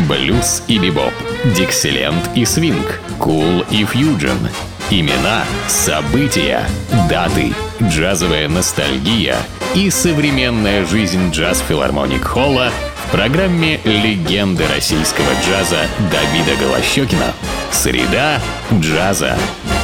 блюз и бибоп, диксиленд и свинг, кул и фьюджен. Имена, события, даты, джазовая ностальгия и современная жизнь джаз-филармоник Холла в программе «Легенды российского джаза» Давида Голощёкина. Среда джаза.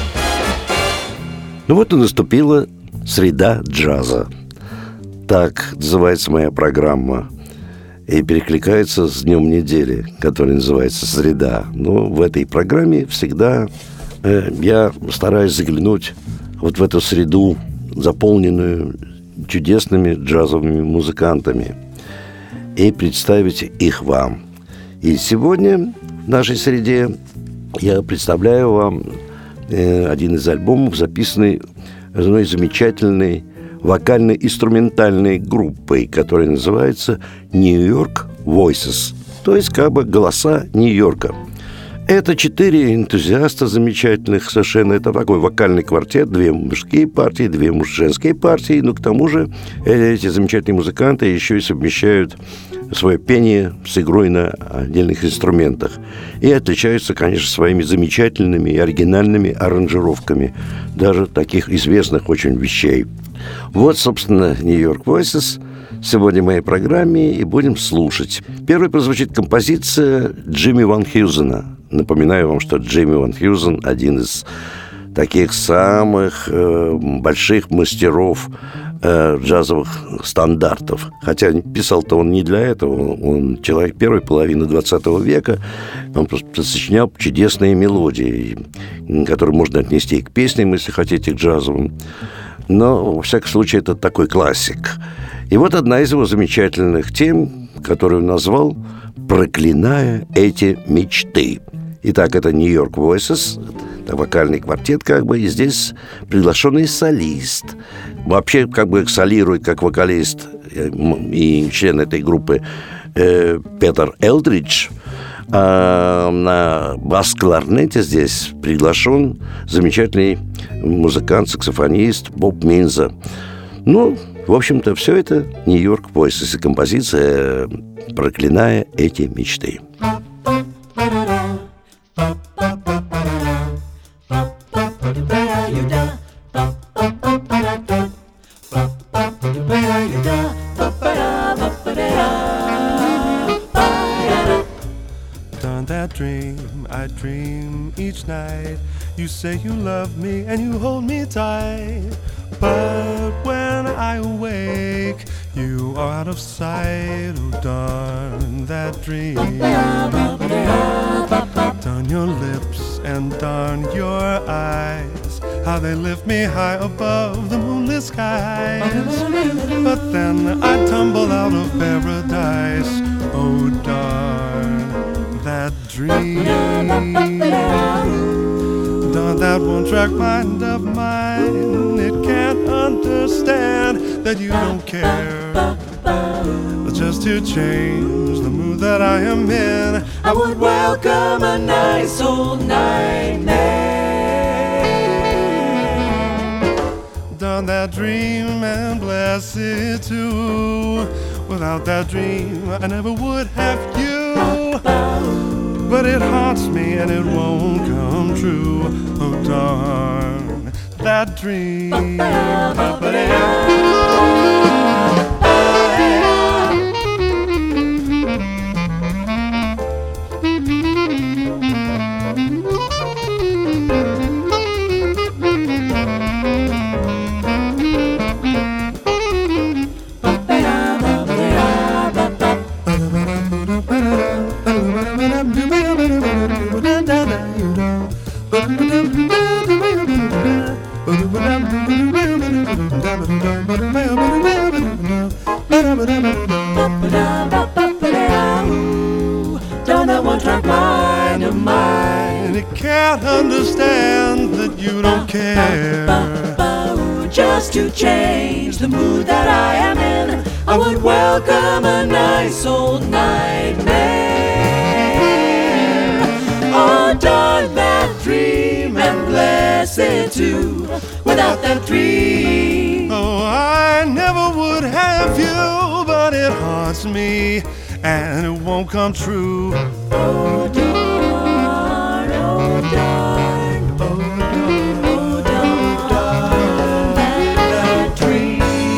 Ну вот и наступила среда джаза. Так называется моя программа. И перекликается с днем недели, который называется «Среда». Но в этой программе всегда я стараюсь заглянуть вот в эту среду, заполненную чудесными джазовыми музыкантами, и представить их вам. И сегодня в нашей среде я представляю вам один из альбомов, записанный одной замечательной вокально-инструментальной группой, которая называется New York Voices, то есть как бы голоса Нью-Йорка. Это 4 энтузиаста замечательных совершенно. Это такой вокальный квартет, 2 мужские партии, 2 женские партии. Но к тому же эти замечательные музыканты еще и совмещают свое пение с игрой на отдельных инструментах. И отличаются, конечно, своими замечательными и оригинальными аранжировками даже таких известных очень вещей. Вот, собственно, New York Voices сегодня в моей программе, и будем слушать. Первой прозвучит композиция Джимми Ван Хьюзена. Напоминаю вам, что Джимми Ван Хьюзен – один из таких самых больших мастеров джазовых стандартов. Хотя писал-то он не для этого. Он человек первой половины 20 века. Он просто сочинял чудесные мелодии, которые можно отнести и к песням, если хотите, к джазовым. Но, во всяком случае, это такой классик. И вот одна из его замечательных тем, которую он назвал «Проклиная эти мечты». Итак, это New York Voices, это вокальный квартет как бы, и здесь приглашенный солист. Вообще как бы солирует как вокалист и член этой группы Петер Элдридж. А на бас-кларнете здесь приглашен замечательный музыкант, саксофонист Боб Минза. Ну, в общем-то, все это New York Voices и композиция «Проклиная эти мечты». That dream I dream each night. You say you love me and you hold me tight, but when I awake, you are out of sight. Oh, darn that dream. Darn your lips and darn your eyes, how they lift me high above the moonlit skies. But then I tumble out of paradise. Oh, darn that dream. Darn that one-track mind of mine. It can't understand that you don't care. Just to change the mood that I am in, I would welcome a nice old nightmare. Darn that dream and bless it too. Without that dream, I never would have you. But it haunts me and it won't come true. Oh, darn that dream. Down that one-track mind of mine, it can't understand that you don't care. Just to change the mood that I am in, I would welcome a nice old nightmare. Oh, darn that dream and bless it too. Without that dream, oh, I never would have you. But but it haunts me, and it won't come true. Oh darn, oh darn, oh darn, that dream.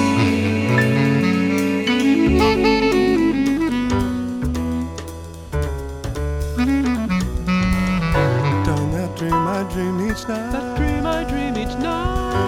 Done that dream I dream each night. That dream I dream each night.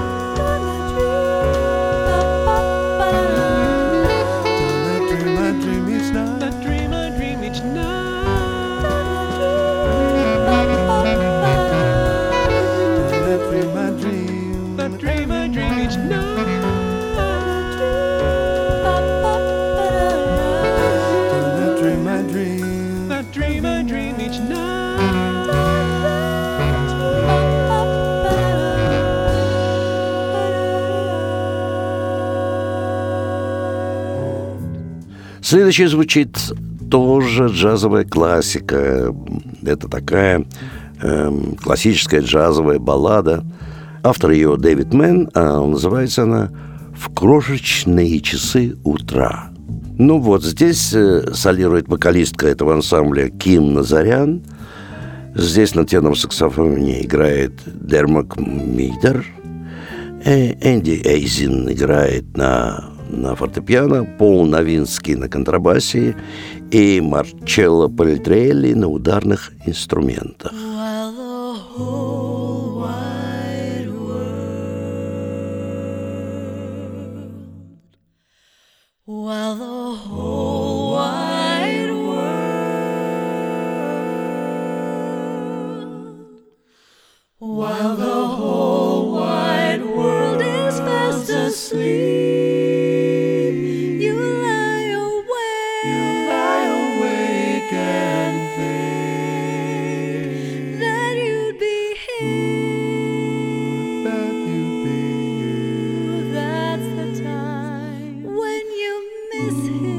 Следующий звучит тоже джазовая классика. Это такая классическая джазовая баллада. Автор ее Дэвид Мэн, а называется она «В крошечные часы утра». Ну вот, здесь солирует вокалистка этого ансамбля Ким Назарян. Здесь на тенорном саксофоне играет Дермак Мидер. Энди Эйзин играет на фортепиано, Пол Новинский на контрабасе и Марчелло Пальтрелли на ударных инструментах. While the whole wide world, while the whole wide world is fast asleep, you lie awake and think that you'd be here, that's the time when you miss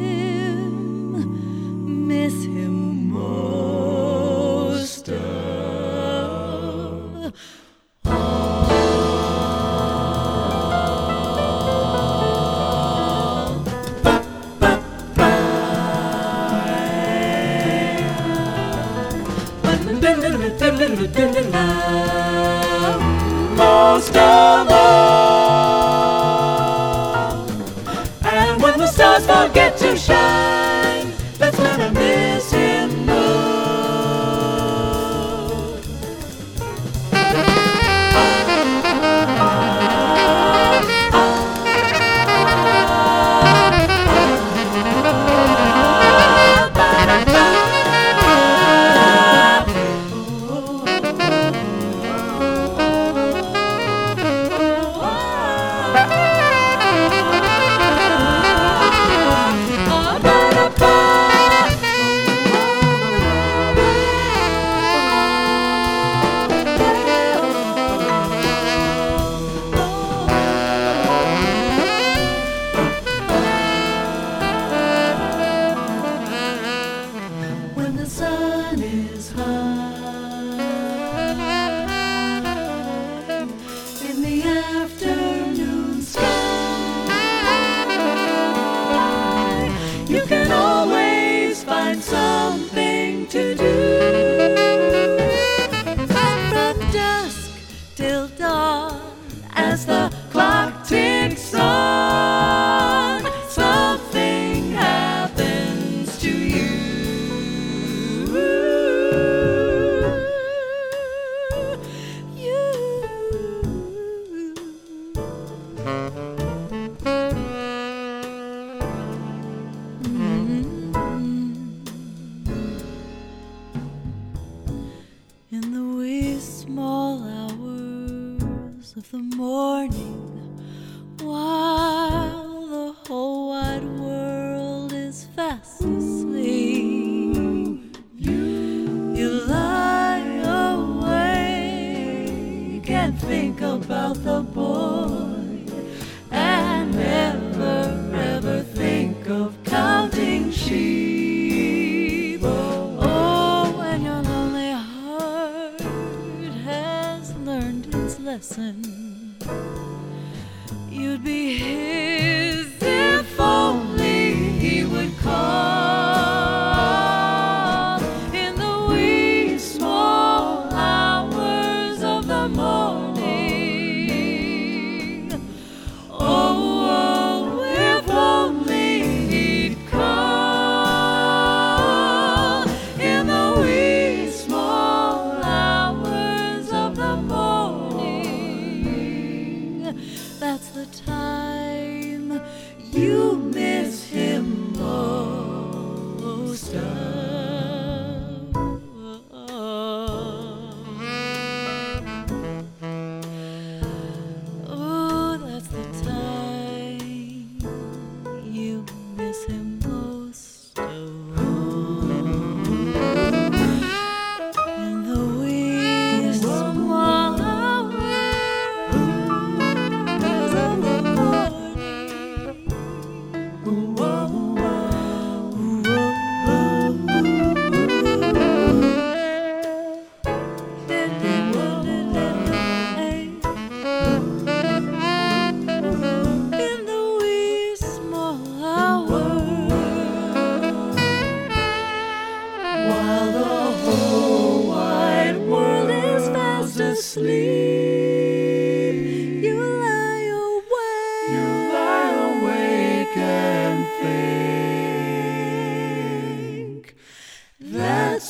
him most of most of all. And when the stars forget to shine, that's when I miss him most. When the sun is high in the afternoon sky, you can always find something to do. From dusk till dawn, as the clock ticks on, something happens to you.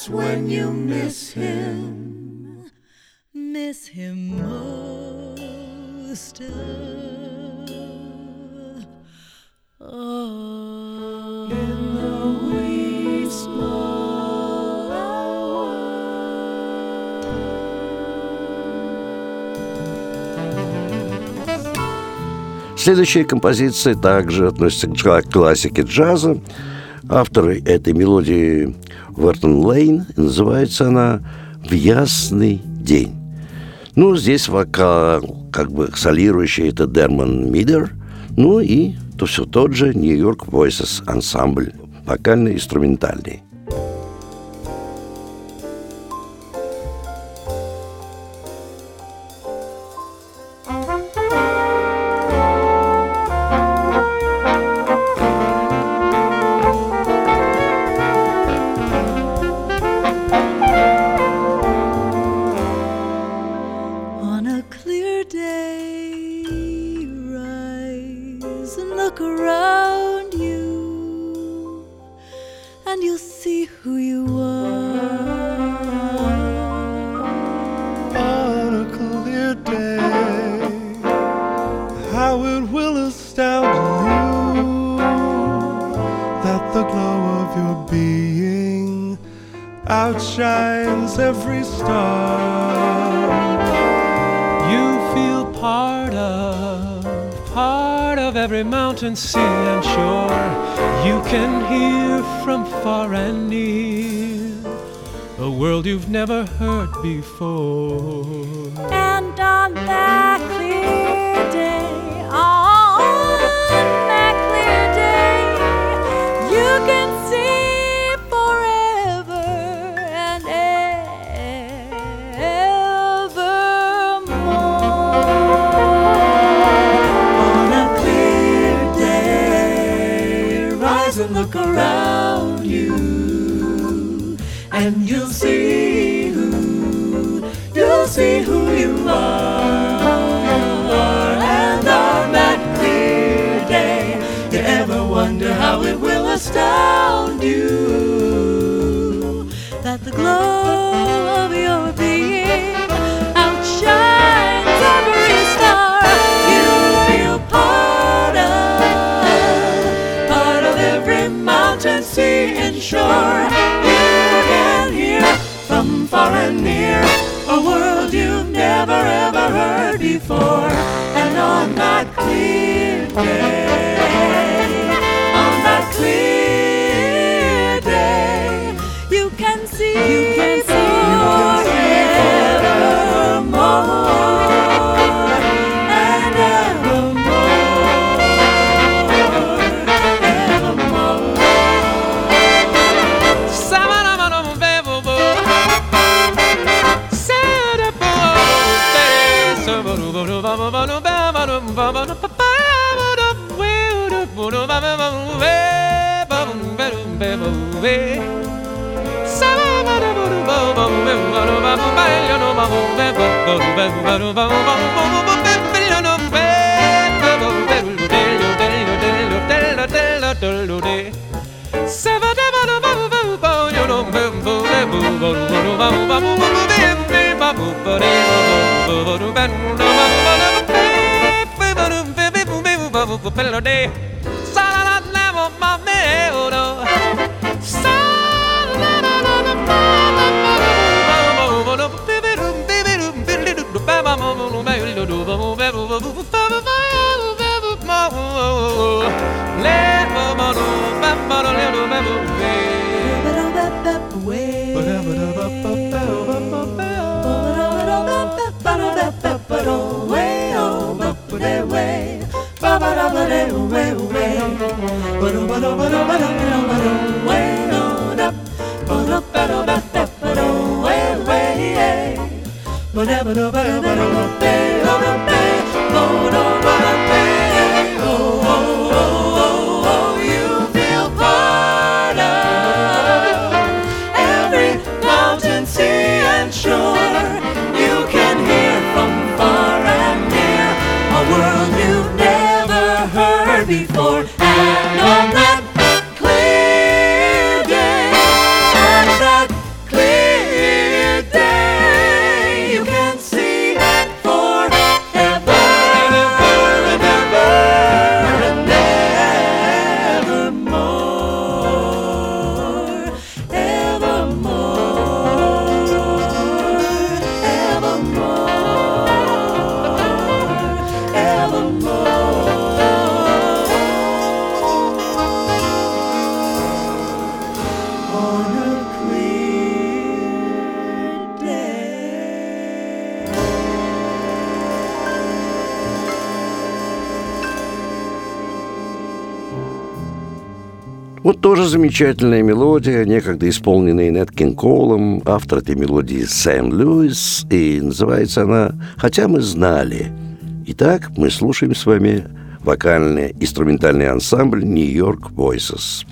that's when you miss him most of all. In the wee small hours. Следующая композиция также относится к классике джаза. Автор этой мелодии Вертон Лейн. Называется она «В ясный день». Ну, здесь вокал, как бы солирующий, это Дермон Мидер. Ну и то все тот же New York Voices ансамбль, вокально-инструментальный. Look around you, and you'll see who you are. On a clear day, how it will astound you that the glow of your being outshines every star. You feel part of every mountain, sea and shore. You can hear from far and near a world you've never heard before. And on that clear day, you can see forever and and look around you, and you'll see who you are. And on that clear day, you ever wonder how it will astound you that the glow of your being outshines every star. You feel part of every mountain, sea and shore. You can hear from far and near a world you've never ever heard before. And on that clear day, you can see forevermore and before. And on that clear day, on that clear Вот тоже замечательная мелодия, некогда исполненная Нэт Кинг Колом. Автор этой мелодии Сэм Льюис, и называется она «Хотя мы знали». Итак, мы слушаем с вами вокальный инструментальный ансамбль New York Voices.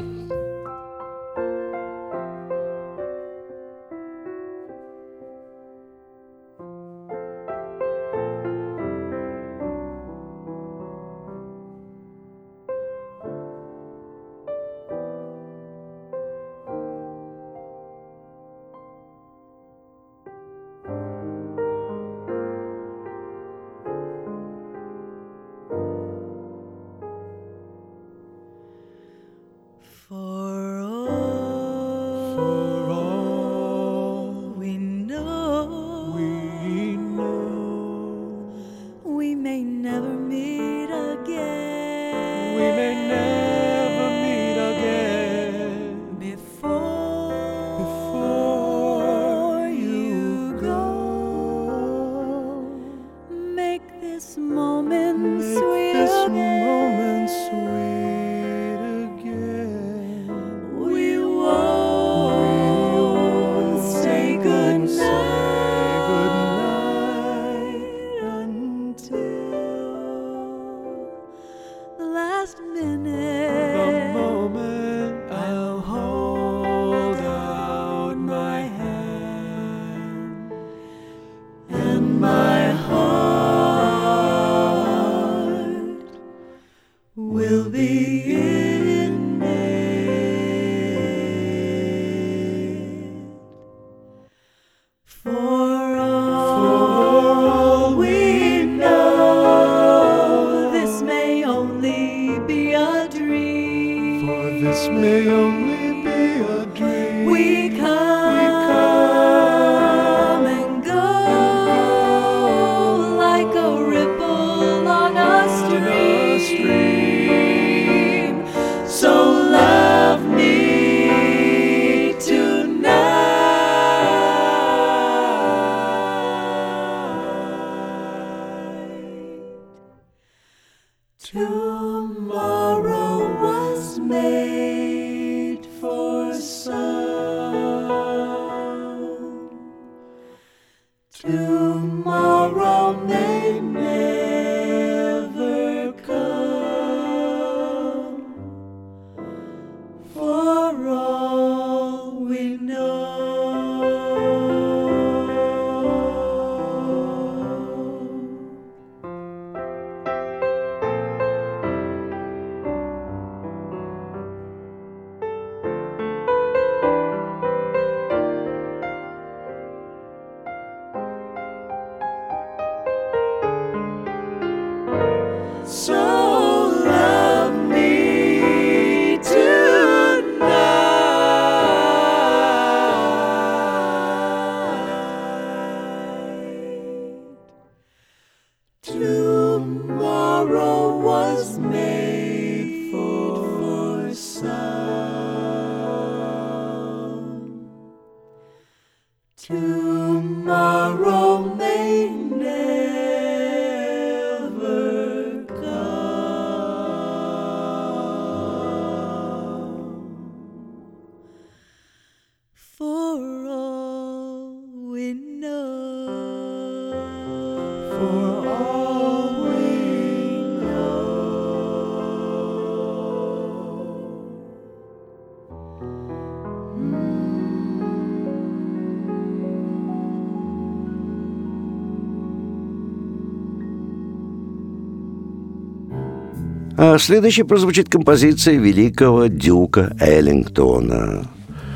А следующей прозвучит композиция великого Дюка Эллингтона.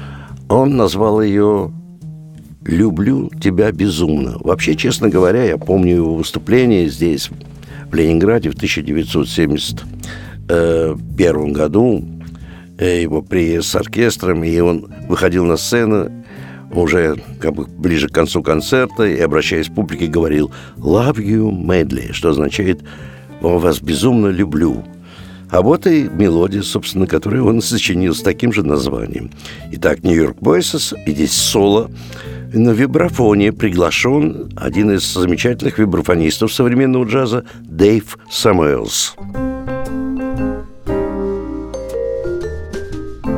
Он назвал ее «Люблю тебя безумно». Вообще, честно говоря, я помню его выступление здесь, в Ленинграде, в 1971 году. Его приезд с оркестром, и он выходил на сцену уже как бы ближе к концу концерта и, обращаясь к публике, говорил «Love you madly», что означает «Вас безумно люблю». А вот и мелодия, собственно, которую он сочинил с таким же названием. Итак, New York Voices, и здесь соло. На вибрафоне приглашен один из замечательных вибрафонистов современного джаза Дэйв Самуэлс.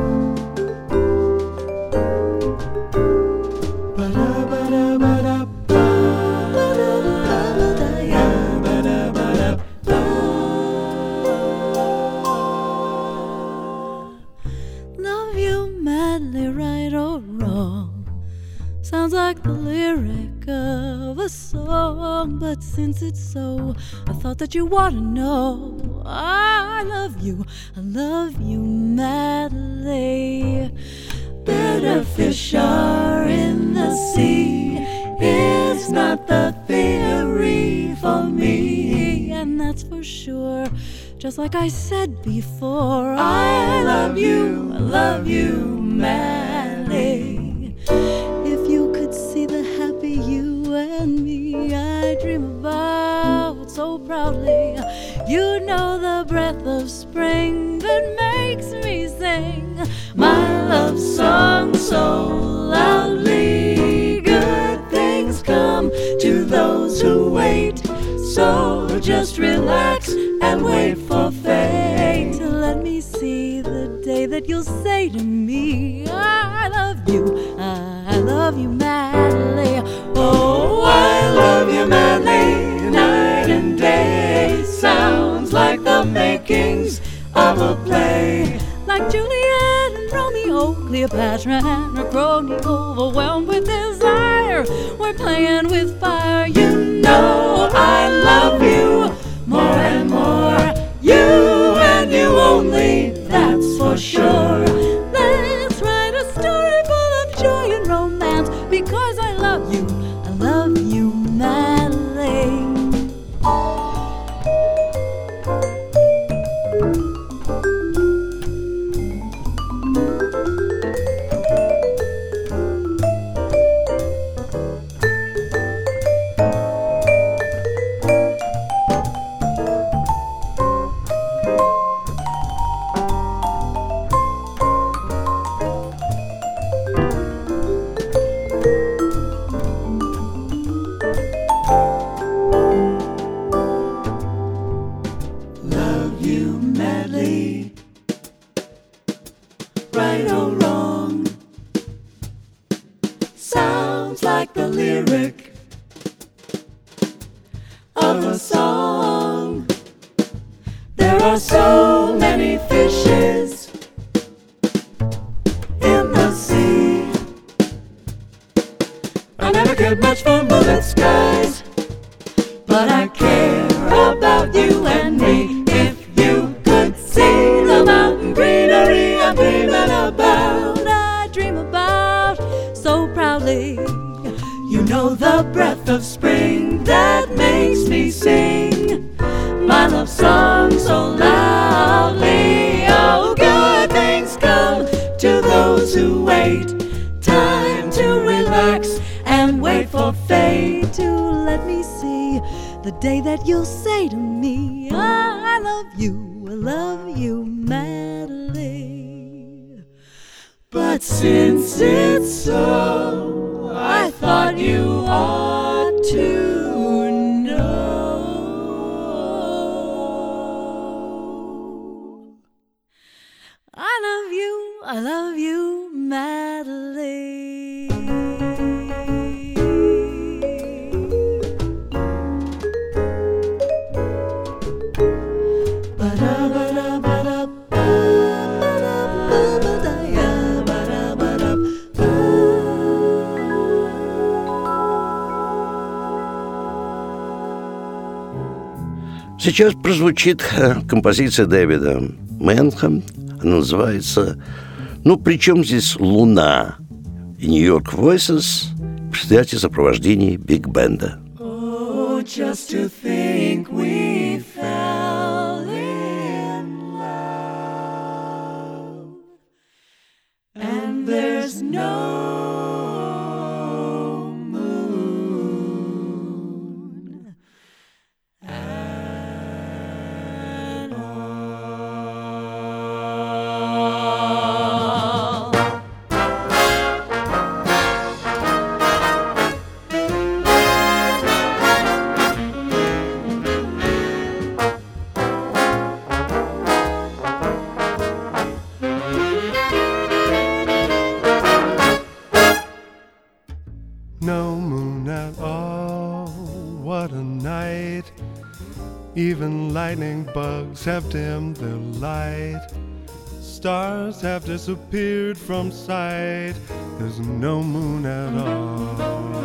wrong. Sounds like the lyric of a song, but since it's so, I thought that you ought to know I love you madly. Better fish are in the sea, it's not the theory for me, and that's for sure. Just like I said before, I love you madly. If you could see the happy you and me I dream about so proudly, you know the breath of spring that makes me sing my love song so loudly. Good things come to those who wait, so just relax and wait for fate to let me see the day that you'll say to me, I love you madly. Oh, I love you madly, night and day. Sounds like the makings of a play, like Juliet and Romeo, Cleopatra and her crony, overwhelmed with desire. We're playing with fire, you know I love you more and more. You and you only, that's for sure. Let's write a story full of joy and romance, because I love you madly. Сейчас прозвучит композиция Дэвида Мэнхэма. Она называется «Ну, при чем здесь Луна?» и «Нью-Йорк Voices» в предстоятии сопровождении биг-бенда. Oh, just to think we fell in love, and there's no even lightning bugs have dimmed their light. stars have disappeared from sight. There's no moon at all.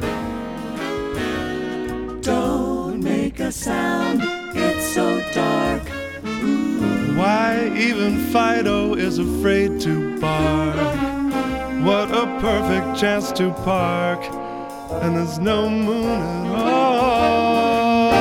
Don't make a sound, it's so dark. Ooh. Why even Fido is afraid to bark. What a perfect chance to park, and there's no moon at all.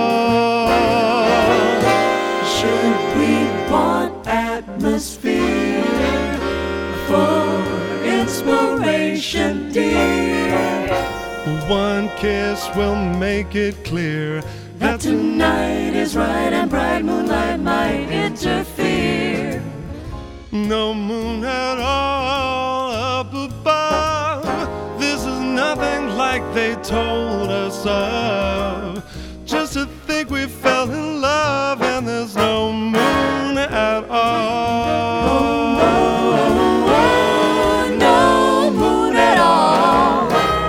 Should we want atmosphere for inspiration, dear? One kiss will make it clear that tonight is right and bright moonlight might interfere. No moon at all up above. This is nothing like they told us of. Just to think we fell in love and there's no moon at all. Oh, no moon at all.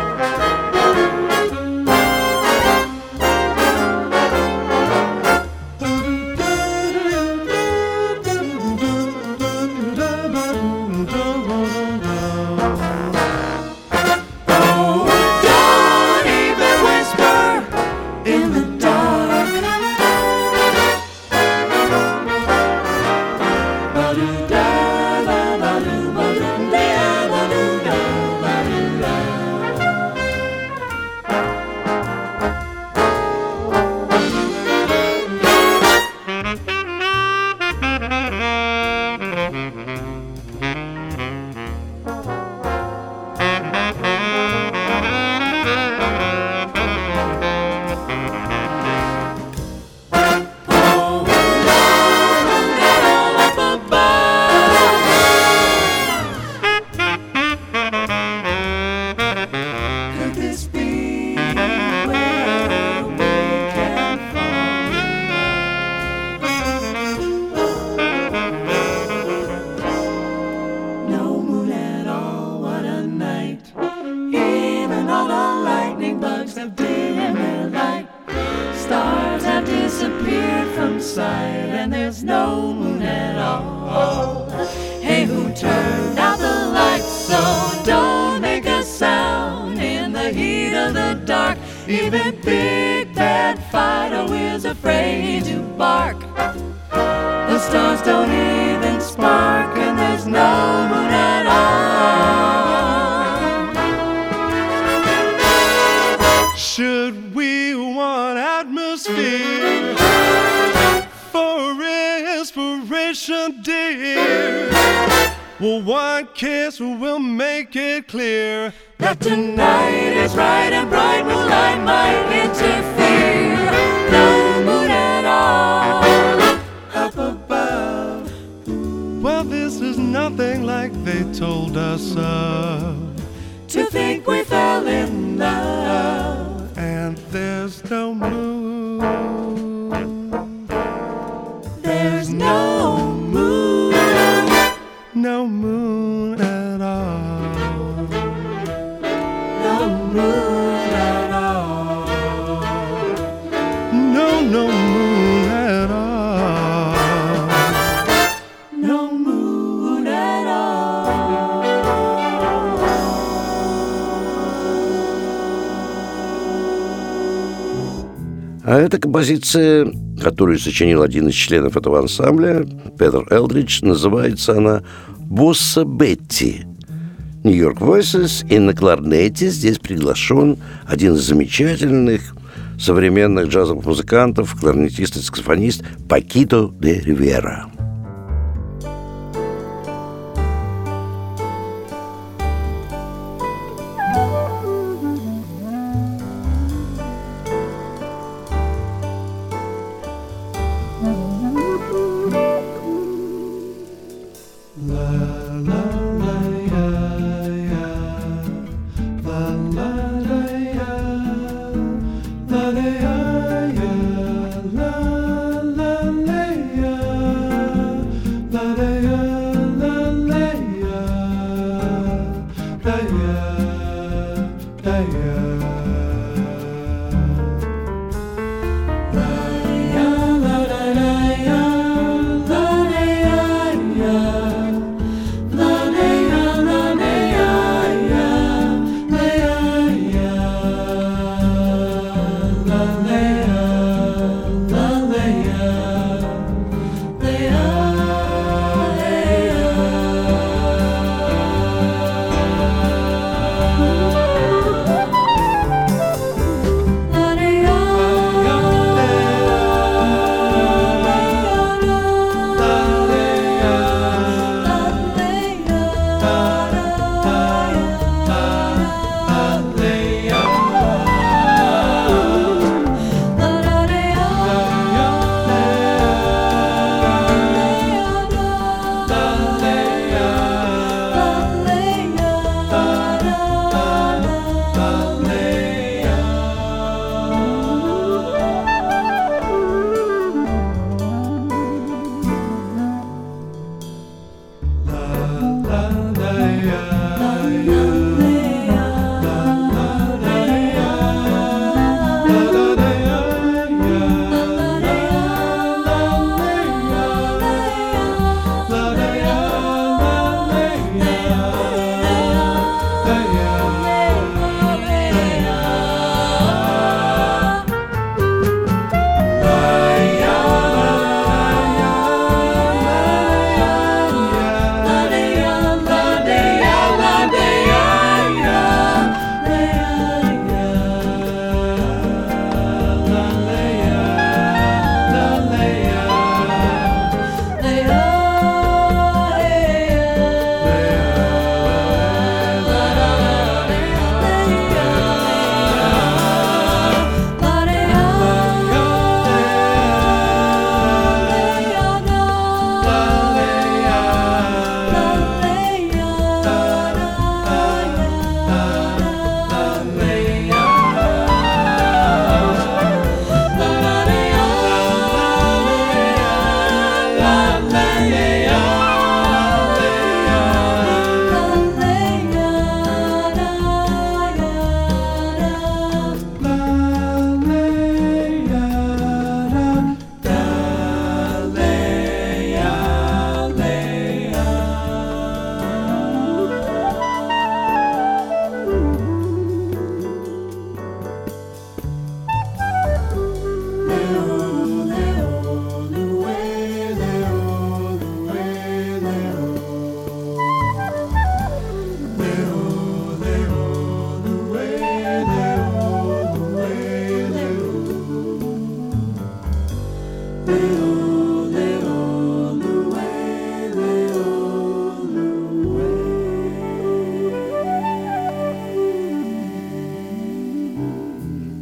Even Big Bad Fido is afraid to bark. The stars don't even spark, and there's no moon at all. Should we want atmosphere for inspiration, dear? Well, one kiss will make it clear that tonight is right and bright moonlight might interfere. No moon at all up above. Well, this is nothing like they told us of. To think we fell in love, and there's no moon. There's no moon. No moon at all. No moon at all. No moon at all. No moon at all. А эта композиция, которую сочинил один из членов этого ансамбля, Петер Элдридж, называется она «Босса Бетти». Нью-Йорк Voices, и на кларнете здесь приглашен один из замечательных современных джазовых музыкантов, кларнетист и саксофонист Пакито де Ривера. La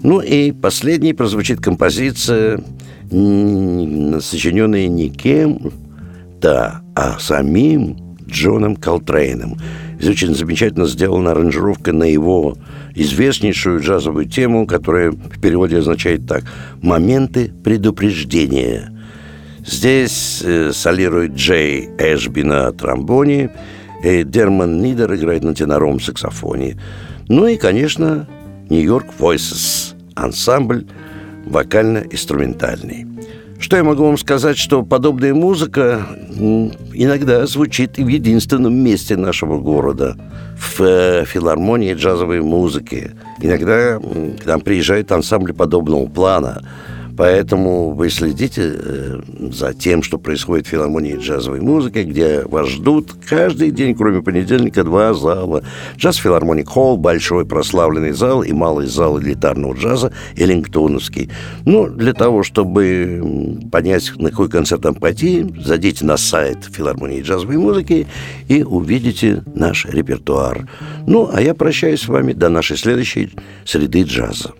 Ну и последней прозвучит композиция, сочиненная не кем-то, а самим Джоном Колтрейном. Здесь очень замечательно сделана аранжировка на его известнейшую джазовую тему, которая в переводе означает так: «Моменты предупреждения». Здесь солирует Джей Эшби на тромбоне, и Дерман Нидер играет на теноровом саксофоне. Ну и, конечно, Нью-Йорк Voices, ансамбль вокально-инструментальный. Что я могу вам сказать, что подобная музыка иногда звучит и в единственном месте нашего города, в филармонии джазовой музыки. Иногда к нам приезжают ансамбли подобного плана. Поэтому вы следите за тем, что происходит в филармонии джазовой музыки, где вас ждут каждый день, кроме понедельника, 2 зала. Джаз Филармоник Холл, большой прославленный зал, и малый зал элитарного джаза Эллингтоновский. Ну, для того, чтобы понять, на какой концерт там пойти, зайдите на сайт филармонии джазовой музыки и увидите наш репертуар. Ну, а я прощаюсь с вами до нашей следующей среды джаза.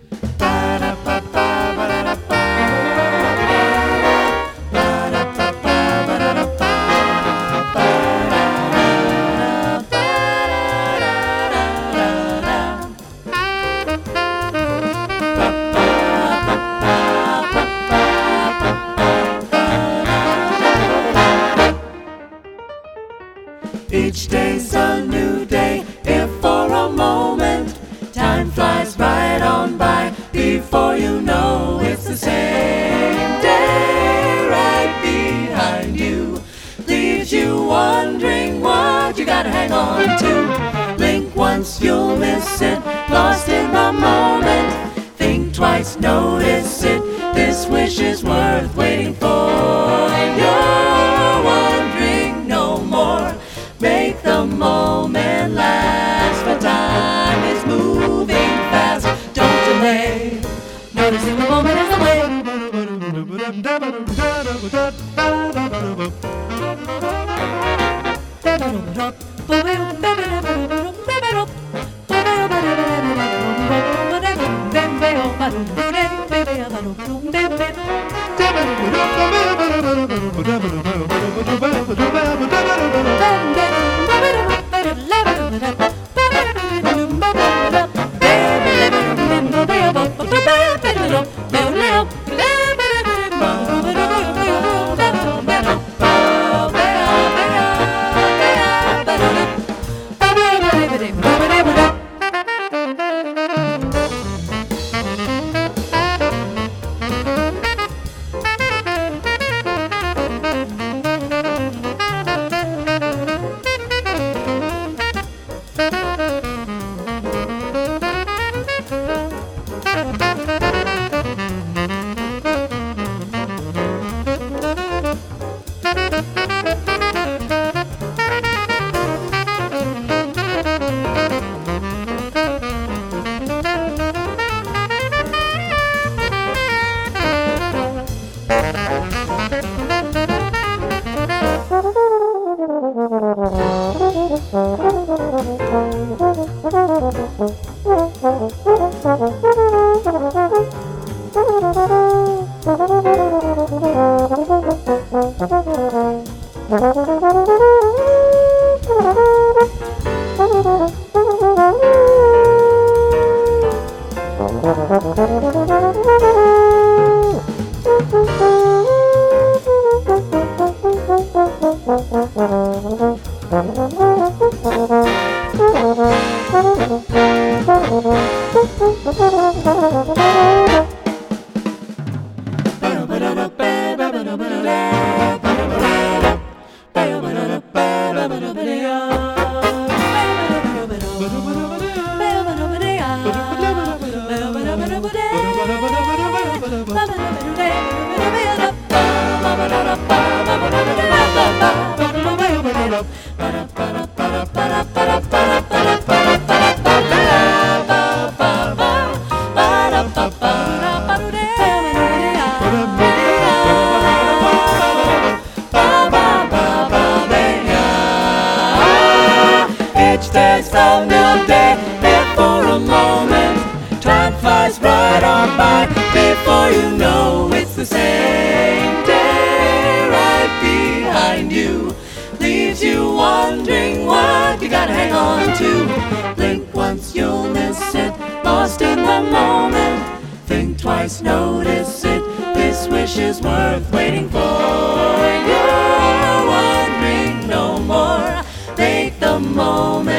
Each day's a new day, if for a moment time flies right on by. Before you know it's the same day right behind you. Leaves you wondering what you gotta hang on to. Blink once, you'll miss it, lost in the moment. Think twice, notice it, this wish is worth waiting for. You're wondering no more. Make the moment last, for time is moving fast. Don't delay, noticing the moment is the way. Each day's a new day, if for a moment time flies right on. before you know it's the same day right behind you. Leaves you wondering what you gotta hang on to. Blink once, you'll miss it, lost in the moment. Think twice, notice it, this wish is worth waiting for. You're wondering no more, make the moment